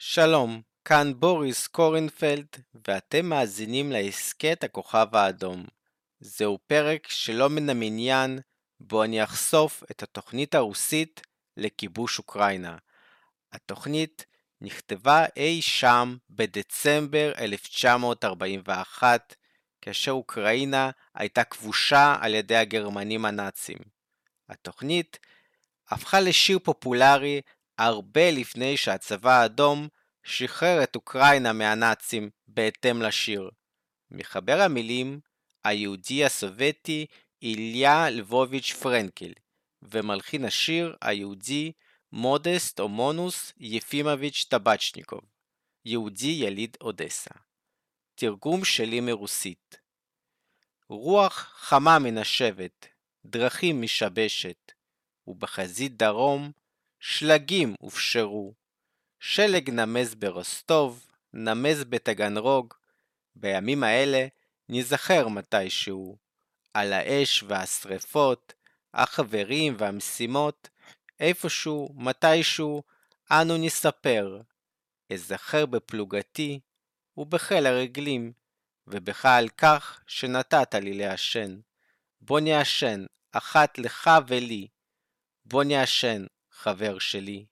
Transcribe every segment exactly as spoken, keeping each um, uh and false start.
שלום, כאן בוריס קורנפלד, ואתם מאזינים להסכת הכוכב האדום. זהו פרק שלא מן המניין, בו אני אחשוף את התוכנית הרוסית לכיבוש אוקראינה. התוכנית נכתבה אי שם בדצמבר אלף תשע מאות ארבעים ואחת, כאשר אוקראינה הייתה כבושה על ידי הגרמנים הנאצים. התוכנית הפכה לשיר פופולרי הרבה לפני שהצבא האדום שחרר את אוקראינה מהנאצים בהתאם לשיר. מחבר המילים היהודי הסובייטי איליה לבוביץ' פרנקל, ומלחין השיר היהודי מודסט אומונוס יפימוביץ' טבצ'ניקוב, יהודי יליד אודסה. תרגום שלי מרוסית. רוח חמה מנשבת, דרכים משבשת, ובחזית דרום שלגים הופשרו. שלג נמז ברוסטוב, נמז בטגנרוג. בימים האלה נזכר מתישהו. על האש והשריפות, החברים והמשימות, איפשהו, מתישהו, אנו נספר. אזכר בפלוגתי ובחיל הרגלים, ובך על כך שנתת לי לעשן. בוא נעשן, אחת לך ולי. בוא נעשן, חבר שלי.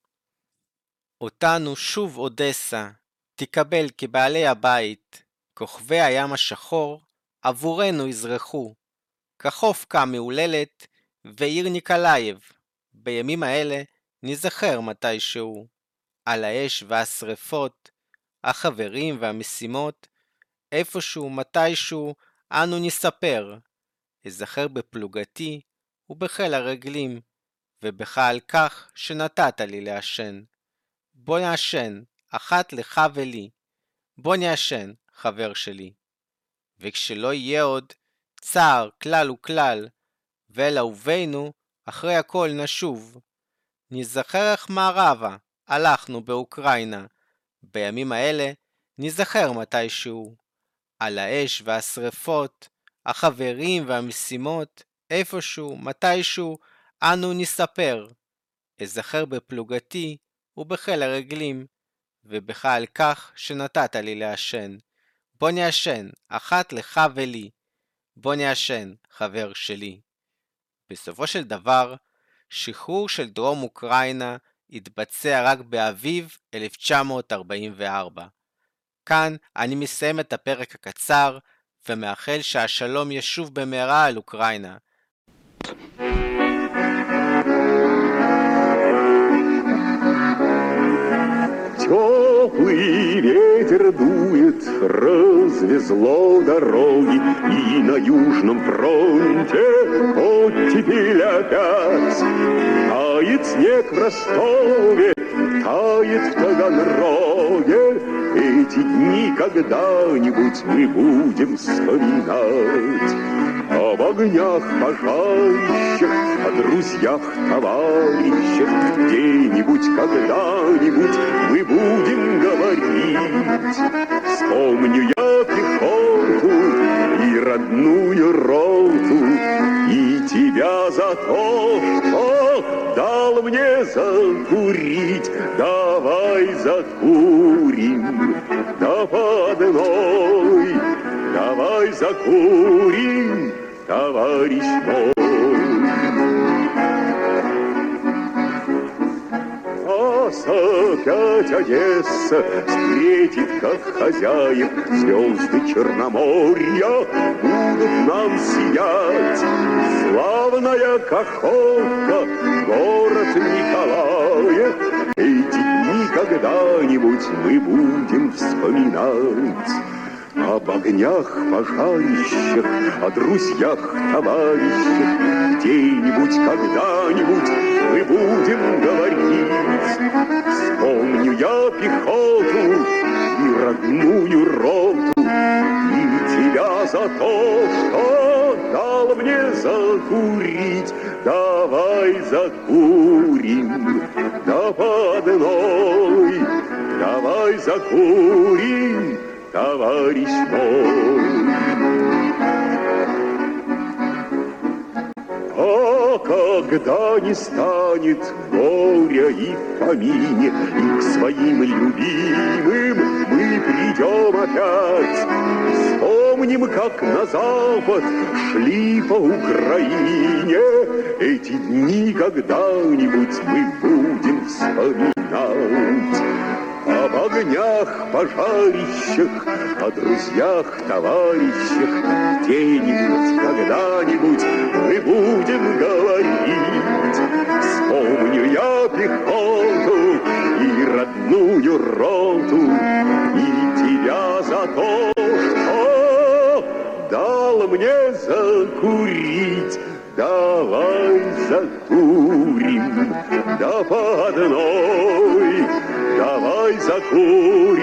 אותנו שוב אודסה, תקבל כבעלי הבית, כוכבי הים השחור, עבורנו יזרחו, כחופקה מעוללת, ועיר ניקולאייב. בימים האלה נזכר מתישהו. על האש והשריפות, החברים והמשימות, איפשהו מתישהו אנו נספר. אזכר בפלוגתי ובחיל הרגלים, ובך על כך שנתת לי לעשן. בוא נעשן, אחת לך ולי. בוא נעשן, חבר שלי. וכשלא יהיה עוד צער כלל וכלל, ואל אהובינו אחרי הכל נשוב. נזכר איך מערבה הלכנו באוקראינה. בימים האלה נזכר מתישהו. על האש והשריפות, החברים והמשימות, איפשהו, מתישהו, אנו נספר. אזכר בפלוגתי ובחיל הרגלים, ובך על כך שנתת לי לעשן. בוא נעשן, אחת לך ולי. בוא נעשן, חבר שלי. בסופו של דבר, שחרור של דרום אוקראינה התבצע רק באביב אלף תשע מאות ארבעים וארבע. כאן אני מסיים את הפרק הקצר, ומאחל שהשלום ישוב במהרה על אוקראינה. Теплый ветер дует, развезло дороги, и на южном фронте оттепель опять. Тает снег в Ростове, тает в Таганроге, эти дни когда-нибудь мы будем вспоминать. Об огнях пожарищах, о друзьях, товарищах, где-нибудь, когда-нибудь мы будем говорить. Вспомню я пехоту и родную роту, и тебя за то, что дал мне закурить. Давай закурим до подной, давай закурим, товарищ мой. Нас опять Одесса встретит, как хозяев. Звезды Черноморья будут нам сиять. Славная Каховка, город Николаев. Эти дни когда-нибудь мы будем вспоминать. Об огнях, пожарищах, о друзьях, товарищах, где-нибудь, когда-нибудь мы будем говорить. Вспомню я пехоту и родную роту, и тебя за то, что дал мне закурить. Давай закурим до подной, давай закурим, товарищ мой. А когда не станет горя и в помине, и к своим любимым мы придем опять, вспомним, как на запад шли по Украине. Эти дни когда-нибудь мы будем вспоминать. Об огнях, пожарищах, о друзьях, товарищах где-нибудь, когда-нибудь мы будем говорить. Вспомню я пехоту и родную роту, и тебя за то, что дал мне закурить. Давай закурим, да по одной, давай закурим.